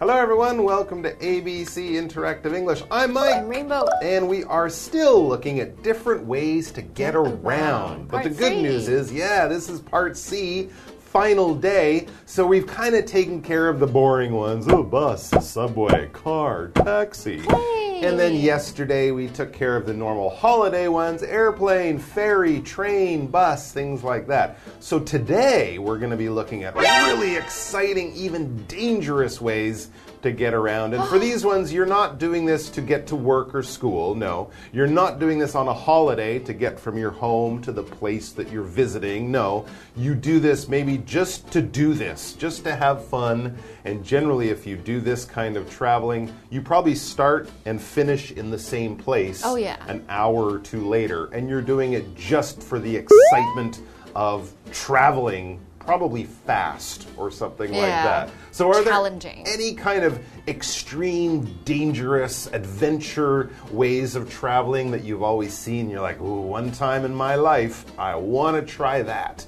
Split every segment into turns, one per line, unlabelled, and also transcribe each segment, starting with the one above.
Hello everyone, welcome to ABC Interactive English. I'm Mike.
I'm Rainbow.
And we are still looking at different ways to get around. But the good news is, this is part C, final day. So we've kind of taken care of the boring ones. Oh, bus, subway, car, taxi.
Hey.
And then yesterday we took care of the normal holiday ones, airplane, ferry, train, bus, things like that. So today we're going to be looking at really exciting, even dangerous ways to get around. And for these ones, you're not doing this to get to work or school. No, you're not doing this on a holiday to get from your home to the place that you're visiting. No, you do this maybe just to do this, just to have fun. And generally, if you do this kind of traveling, you probably start and finish in the same place an hour or two later. And you're doing it just for the excitement of traveling, probably fast or something like that. So are there any kind of extreme, dangerous, adventure ways of traveling that you've always seen? You're like, ooh, one time in my life, I want to try that.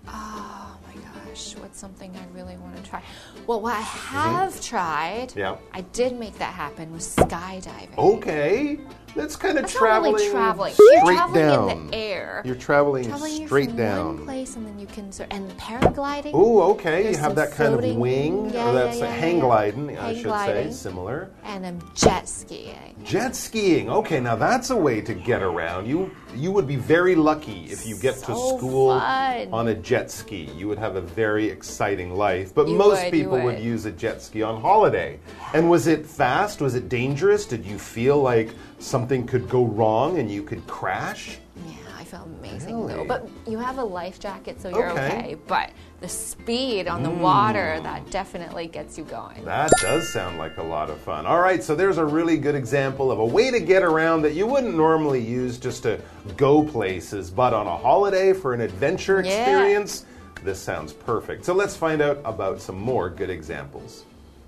Oh my gosh, what's something I really want to try? Well, what I have tried, I did make that happen, was skydiving.
Okay. That's kind of traveling,
not really traveling.
Straight
You're traveling
down.
In the air.
You're traveling straight
from
down.
One place and then you can and paragliding.
Oh, okay.
There's
you have that kind of wing, or that's hang gliding, I should say, similar.
And then jet skiing.
Jet skiing. Okay, now that's a way to get around. You would be very lucky if you get to school on a jet ski. You would have a very exciting life. But most people would use a jet ski on holiday. And was it fast? Was it dangerous? Did you feel like something could go wrong and you could crash?
Yeah, I felt amazing though. But you have a life jacket, so you're okay. But the speed on the water, that definitely gets you going.
That does sound like a lot of fun. All right, so there's a really good example of a way to get around that you wouldn't normally use just to go places, but on a holiday for an adventure experience. This sounds perfect. So let's find out about some more good examples.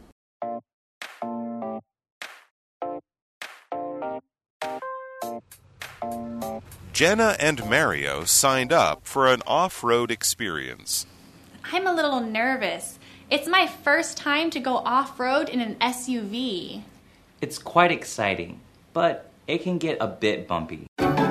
Jenna and Mario signed up for an off-road experience.
I'm a little nervous. It's my first time to go off-road in an SUV.
It's quite exciting, but it can get a bit bumpy.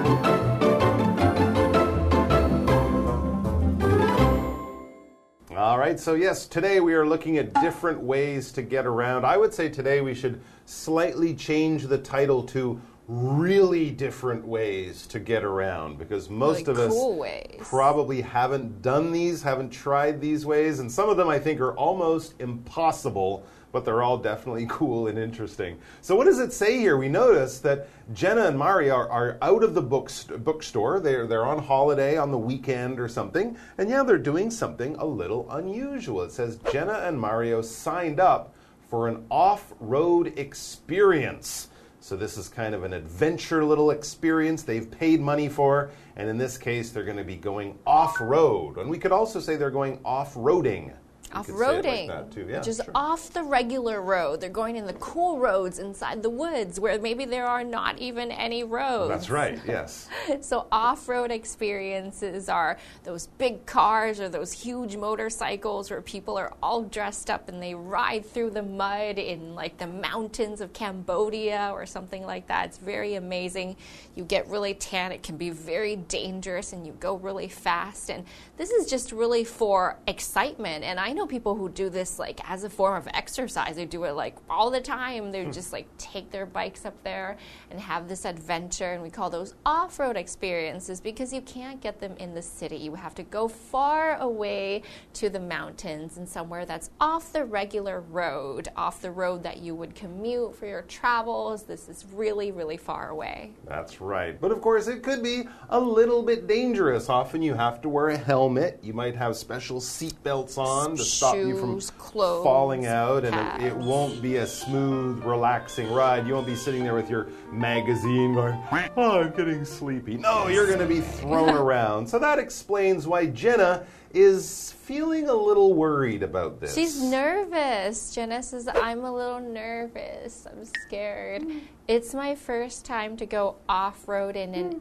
All right, so yes, today we are looking at different ways to get around. I would say today we should slightly change the title to really different ways to get around, because most of us probably haven't done these, haven't tried these ways, and some of them I think are almost impossible, but they're all definitely cool and interesting. So what does it say here? We notice that Jenna and Mario are out of the bookstore. They're on holiday on the weekend or something, and they're doing something a little unusual. It says Jenna and Mario signed up for an off-road experience. So this is kind of an adventure little experience they've paid money for, and in this case, they're going to be going off-road. And we could also say they're going off-roading.
Off-roading, which is off the regular road. They're going in the cool roads inside the woods where maybe there are not even any roads.
That's right, yes.
So off-road experiences are those big cars or those huge motorcycles where people are all dressed up and they ride through the mud in like the mountains of Cambodia or something like that. It's very amazing. You get really tan. It can be very dangerous and you go really fast. And this is just really for excitement. And I know people who do this like as a form of exercise. They do it like all the time. They just like take their bikes up there and have this adventure, and we call those off-road experiences because you can't get them in the city. You have to go far away to the mountains and somewhere that's off the regular road, off the road that you would commute for your travels. This is really, really far away.
That's right. But of course, it could be a little bit dangerous. Often you have to wear a helmet. You might have special seat belts on to stop you from falling out, and it won't be a smooth, relaxing ride. You won't be sitting there with your magazine going, oh, I'm getting sleepy. No, you're going to be thrown around. So that explains why Jenna is feeling a little worried about this.
She's nervous. Jenna says, I'm a little nervous. I'm scared. It's my first time to go off-road in an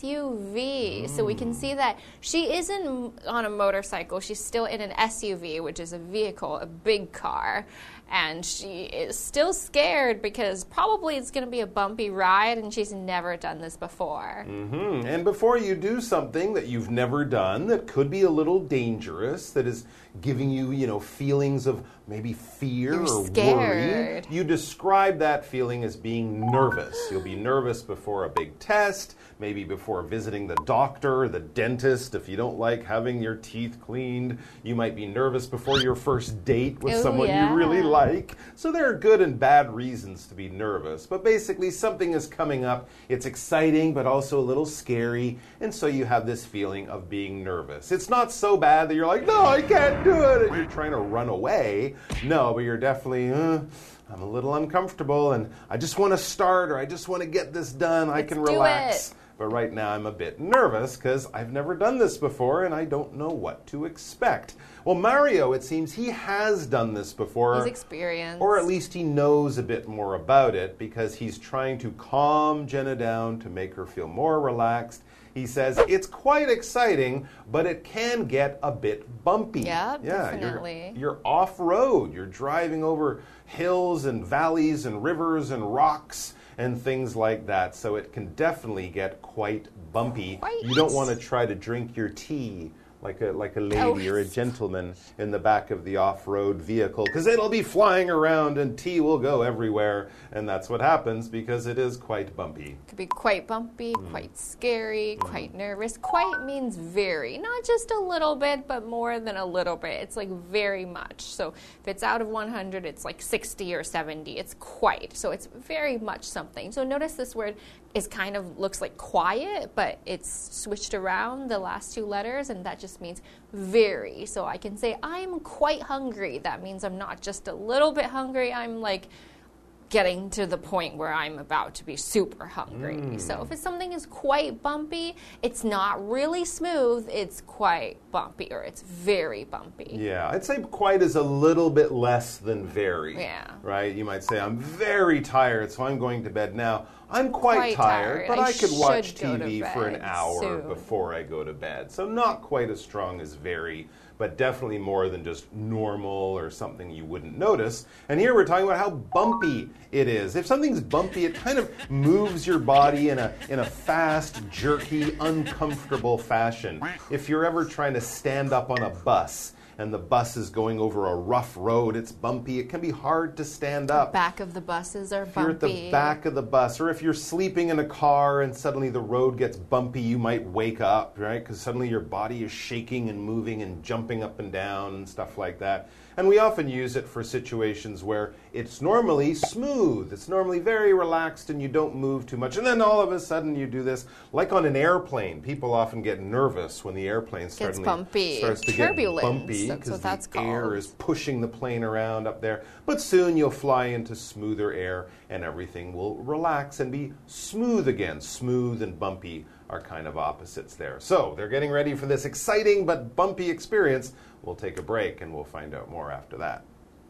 SUV. So we can see that she isn't on a motorcycle. She's still in an SUV, which is a vehicle, a big car. and she is still scared because probably it's going to be a bumpy ride and she's never done this before.
And before you do something that you've never done that could be a little dangerous, that is giving you, feelings of maybe fear or worry, you describe that feeling as being nervous. You'll be nervous before a big test, maybe before visiting the doctor or the dentist. If you don't like having your teeth cleaned, you might be nervous before your first date with someone you really like. So there are good and bad reasons to be nervous. But basically, something is coming up. It's exciting, but also a little scary. And so you have this feeling of being nervous. It's not so bad that you're like, no, I can't do it, and you're trying to run away. No, but you're definitely, I'm a little uncomfortable, and I just want to start, or I just want to get this done. I can relax. But right now I'm a bit nervous because I've never done this before and I don't know what to expect. Well, Mario, it seems he has done this before.
He's experienced.
Or at least he knows a bit more about it because he's trying to calm Jenna down to make her feel more relaxed. He says it's quite exciting, but it can get a bit bumpy.
Yeah, definitely.
You're off-road. You're driving over hills and valleys and rivers and rocks and things like that. So it can definitely get quite bumpy. You don't want to try to drink your tea like a lady or a gentleman in the back of the off-road vehicle, because it'll be flying around and tea will go everywhere, and that's what happens because it is quite bumpy.
It could be quite bumpy, quite scary, quite nervous. Quite means very, not just a little bit, but more than a little bit. It's like very much. So if it's out of 100, it's like 60 or 70. It's quite. So it's very much something. So notice this word is kind of looks like quiet, but it's switched around the last two letters, and that just means very. So I can say I'm quite hungry. That means I'm not just a little bit hungry. I'm like getting to the point where I'm about to be super hungry. So if something is quite bumpy, it's not really smooth, it's quite bumpy, or it's very bumpy.
Yeah, I'd say quite is a little bit less than very.
Yeah.
Right? You might say, I'm very tired, so I'm going to bed now. I'm quite tired, but I could watch TV for an hour before I go to bed. So not quite as strong as very, but definitely more than just normal or something you wouldn't notice. And here we're talking about how bumpy it is. If something's bumpy, it kind of moves your body in a fast, jerky, uncomfortable fashion. If you're ever trying to stand up on a bus and the bus is going over a rough road, it's bumpy, it can be hard to stand up.
The back of the buses are bumpy.
If you're at the back of the bus, or if you're sleeping in a car and suddenly the road gets bumpy, you might wake up, right? Because suddenly your body is shaking and moving and jumping up and down and stuff like that. And we often use it for situations where it's normally smooth, it's normally very relaxed and you don't move too much. And then all of a sudden you do this, like on an airplane. People often get nervous when the airplane starts to get bumpy because the air is pushing the plane around up there. But soon you'll fly into smoother air and everything will relax and be smooth again. Smooth and bumpy are kind of opposites there. So they're getting ready for this exciting but bumpy experience. We'll take a break and we'll find out more after that.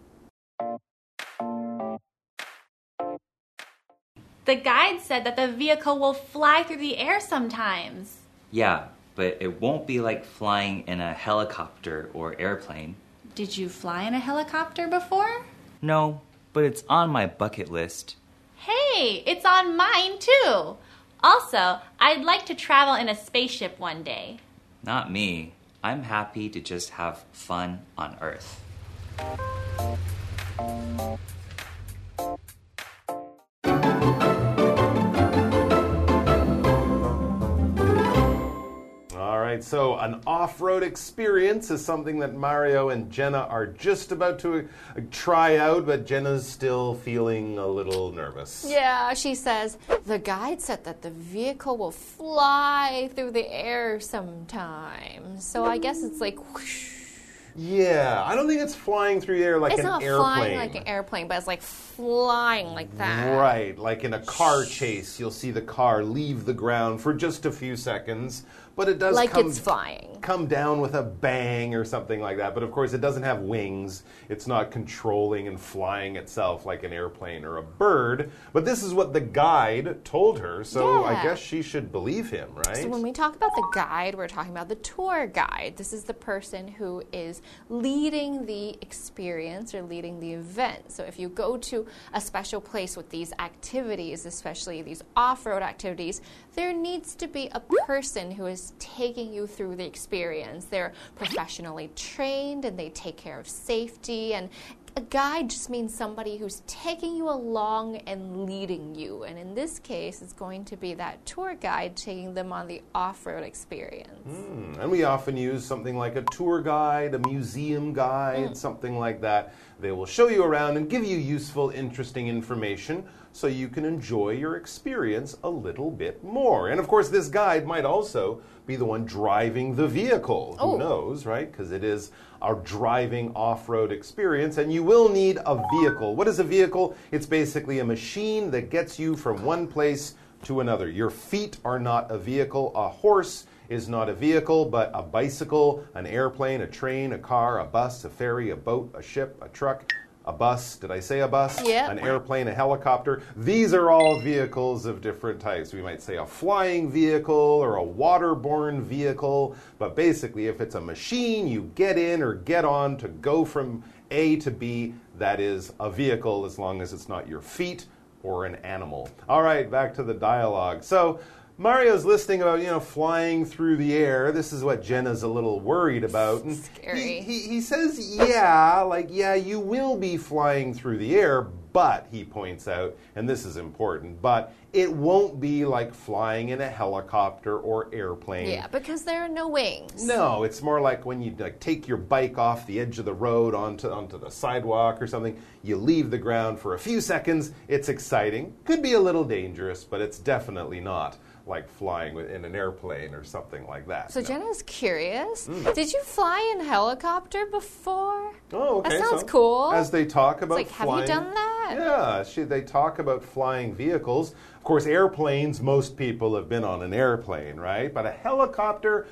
The guide said that the vehicle will fly through the air sometimes.
Yeah, but it won't be like flying in a helicopter or airplane.
Did you fly in a helicopter before?
No, but it's on my bucket list.
Hey, it's on mine too. Also, I'd like to travel in a spaceship one day.
Not me. I'm happy to just have fun on Earth.
All right, so an off-road experience is something that Mario and Jenna are just about to try out, but Jenna's still feeling a little nervous.
Yeah, she says, the guide said that the vehicle will fly through the air sometimes. So I guess it's like whoosh.
Yeah, I don't think it's flying through the air like an airplane.
It's not flying like an airplane, but it's like flying like that.
Right, like in a car chase, you'll see the car leave the ground for just a few seconds, but it does
like it's flying.
Come down with a bang or something like that. But of course, it doesn't have wings. It's not controlling and flying itself like an airplane or a bird. But this is what the guide told her, so I guess she should believe him, right?
So when we talk about the guide, we're talking about the tour guide. This is the person who is leading the experience or leading the event. So if you go to a special place with these activities, especially these off-road activities, there needs to be a person who is taking you through the experience. They're professionally trained and they take care of safety, and a guide just means somebody who's taking you along and leading you. And in this case, it's going to be that tour guide taking them on the off-road experience.
And we often use something like a tour guide, a museum guide, something like that. They will show you around and give you useful, interesting information so you can enjoy your experience a little bit more. And of course, this guide might also be the one driving the vehicle. Who knows, right? Because it is our driving off-road experience, and you will need a vehicle. What is a vehicle? It's basically a machine that gets you from one place to another. Your feet are not a vehicle. A horse is not a vehicle, but a bicycle, an airplane, a train, a car, a bus, a ferry, a boat, a ship, a truck, a bus. Did I say a bus?
Yeah.
An airplane, a helicopter. These are all vehicles of different types. We might say a flying vehicle or a waterborne vehicle. But basically, if it's a machine you get in or get on to go from A to B, that is a vehicle as long as it's not your feet or an animal. All right, back to the dialogue. So Mario's listing about, flying through the air. This is what Jenna's a little worried about. And
Scary.
He says, yeah, you will be flying through the air, but, he points out, and this is important, but it won't be like flying in a helicopter or airplane.
Yeah, because there are no wings.
No, it's more like when you take your bike off the edge of the road onto the sidewalk or something. You leave the ground for a few seconds. It's exciting. Could be a little dangerous, but it's definitely not like flying in an airplane or something like that.
So Jenna's curious. Did you fly in a helicopter before?
Oh, okay.
That sounds cool.
As they talk about
it's like,
flying,
have you done that?
Yeah, they talk about flying vehicles. Of course, airplanes, most people have been on an airplane, right? But a helicopter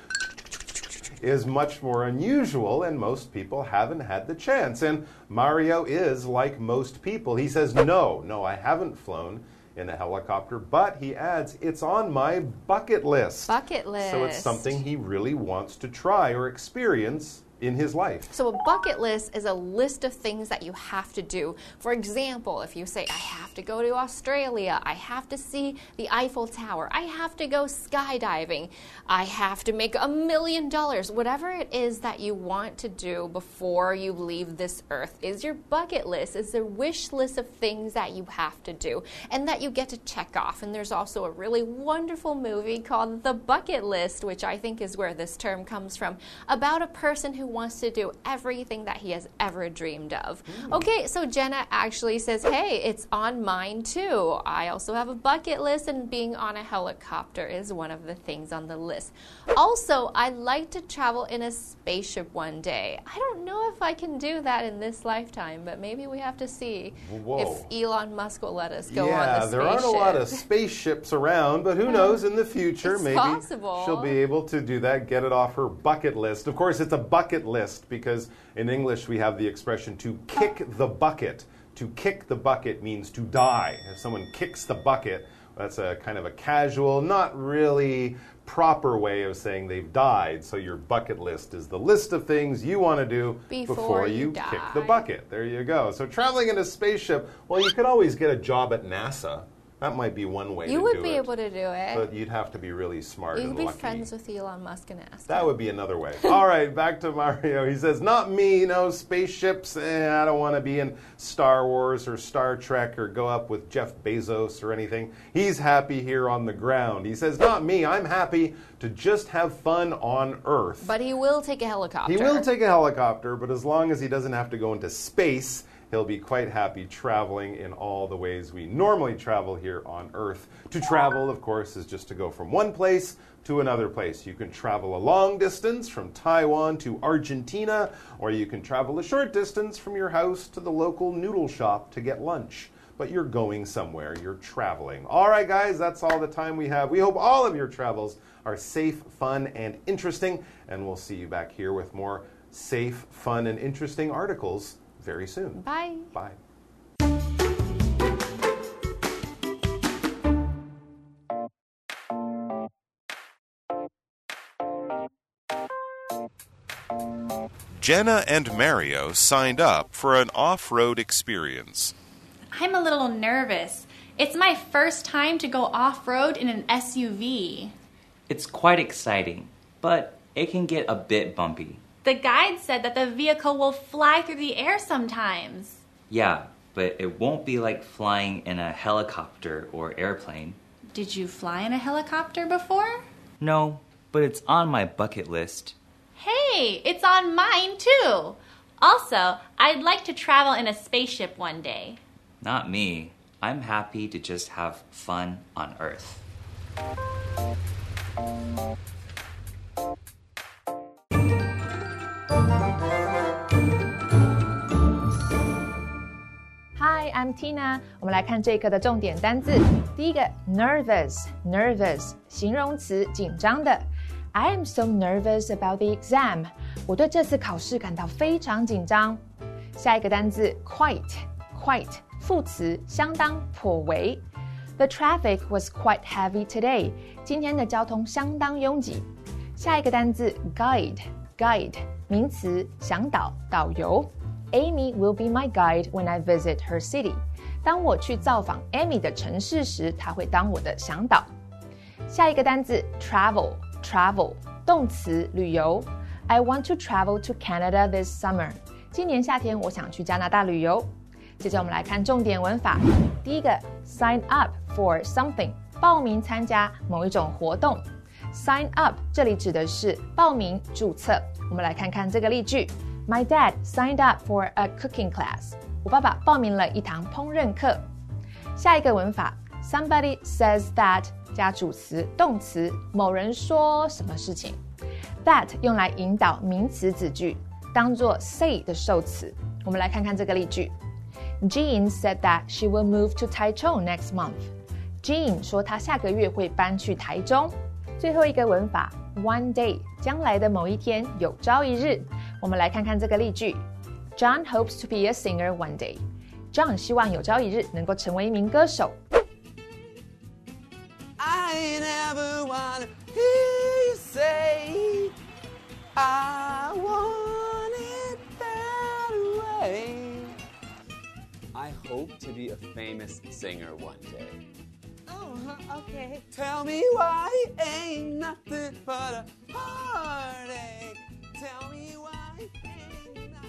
is much more unusual, and most people haven't had the chance. And Mario is like most people. He says, no, I haven't flown in a helicopter, but he adds, it's on my bucket list.
Bucket list.
So it's something he really wants to try or experience in his life.
So a bucket list is a list of things that you have to do. For example, if you say, I have to go to Australia, I have to see the Eiffel Tower, I have to go skydiving, I have to make $1 million, whatever it is that you want to do before you leave this earth is your bucket list. It's a wish list of things that you have to do and that you get to check off. And there's also a really wonderful movie called The Bucket List, which I think is where this term comes from, about a person who wants to do everything that he has ever dreamed of. Okay, so Jenna actually says, hey, it's on mine too. I also have a bucket list, and being on a helicopter is one of the things on the list. Also, I'd like to travel in a spaceship one day. I don't know if I can do that in this lifetime, but maybe we have to see if Elon Musk will let us go on the spaceship.
Yeah, there aren't a lot of spaceships around, but who knows, in the future,
it's
maybe
possible.
She'll be able to do that, get it off her bucket list. Of course, it's a bucket list because in English we have the expression to kick the bucket. To kick the bucket means to die. If someone kicks the bucket, that's a kind of a casual, not really proper way of saying they've died. So your bucket list is the list of things you want to do before you kick the bucket. There you go. So traveling in a spaceship, well, you could always get a job at NASA. That might be one way to do it.
You would be able to do it.
But you'd have to be really smart and lucky.
You'd be friends with Elon Musk and ask
That would be another way. All right, back to Mario. He says, not me, spaceships. I don't want to be in Star Wars or Star Trek or go up with Jeff Bezos or anything. He's happy here on the ground. He says, not me. I'm happy to just have fun on Earth.
But he will take a helicopter.
He will take a helicopter, but as long as he doesn't have to go into space, he'll be quite happy traveling in all the ways we normally travel here on Earth. To travel, of course, is just to go from one place to another place. You can travel a long distance from Taiwan to Argentina, or you can travel a short distance from your house to the local noodle shop to get lunch. but you're going somewhere, you're traveling. All right, guys, that's all the time we have. We hope all of your travels are safe, fun, and interesting, and we'll see you back here with more safe, fun, and interesting articles very soon.
Bye.
Bye.
Jenna and Mario signed up for an off-road experience.
I'm a little nervous. It's my first time to go off-road in an SUV.
It's quite exciting, but it can get a bit bumpy.
The guide said that the vehicle will fly through the air sometimes.
Yeah, but it won't be like flying in a helicopter or airplane.
Did you fly in a helicopter before?
No, but it's on my bucket list.
Hey, it's on mine too. Also, I'd like to travel in a spaceship one day.
Not me. I'm happy to just have fun on Earth.
Hi, I'm Tina. 我们来看这一课的重点单字。第一个 nervous 形容词，紧张的。I am so nervous about the exam. 我对这次考試感到非常緊張。下一個單字 quite 副詞，相當，頗為。The traffic was quite heavy today. 今天的交通相當擁擠。下一個單字 guide 名詞，向導，導遊。Amy will be my guide when I visit her city. 當我去造訪 Amy 的城市時，她會當我的向導。下一個單字 travel 動詞，旅遊。I want to travel to Canada this summer. 今年夏天我想去加拿大旅遊。接着我們來看重點文法。第一個 sign up for something 報名參加某一種活動。Sign up 這裡指的是報名註冊。我們來看看這個例句。My dad signed up for a cooking class. 我爸爸報名了一堂烹飪課。下一個文法 somebody says that 加主詞動詞，某人說什麼事情。That 用來引導名詞子句，當作 say 的受詞。我們來看看這個例句。Jean said that she will move to Taichung next month. Jean 說她下個月會搬去台中。最後一個文法 one day 將來的某一天，有朝一日。我們來看看這個例句。John hopes to be a singer one day. John 希望有朝一日能夠成為一名歌手。
I never wanna hear you say I want it that way. I hope to be a famous singer one day.
Oh, okay.
Tell me why ain't nothing but a heartache. Tell me why ain't nothing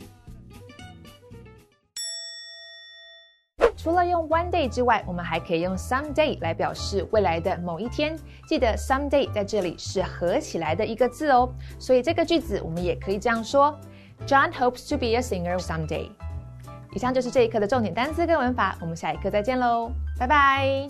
but a...
除了用 one day 之外，我們還可以用 someday 來表示未來的某一天。記得 someday 在這裡是合起來的一個字哦，所以這個句子我們也可以這樣說 John hopes to be a singer someday。以上就是這一課的重點單詞跟文法，我們下一課再見嘍，拜拜。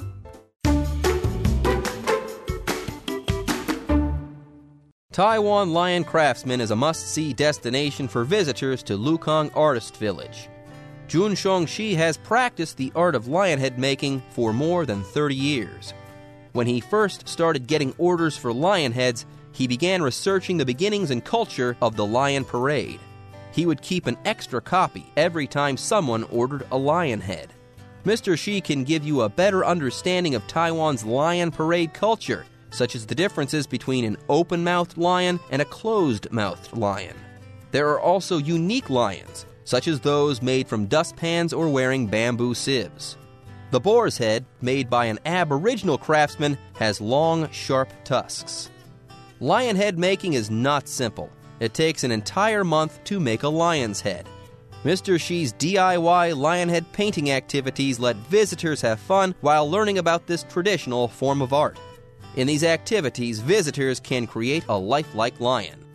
Taiwan Lion Craftsman is a must-see destination for visitors to Lukang Artist Village. Jun Shongxi has practiced the art of lionhead making for more than 30 years. When he first started getting orders for lion heads, he began researching the beginnings and culture of the lion parade. He would keep an extra copy every time someone ordered a lion head. Mr. Shi can give you a better understanding of Taiwan's lion parade culture, such as the differences between an open-mouthed lion and a closed-mouthed lion. There are also unique lions, such as those made from dustpans or wearing bamboo sieves. The boar's head, made by an Aboriginal craftsman, has long, sharp tusks. Lion head making is not simple. It takes an entire month to make a lion's head. Mr. Shi's DIY lion head painting activities let visitors have fun while learning about this traditional form of art. In these activities, visitors can create a lifelike lion.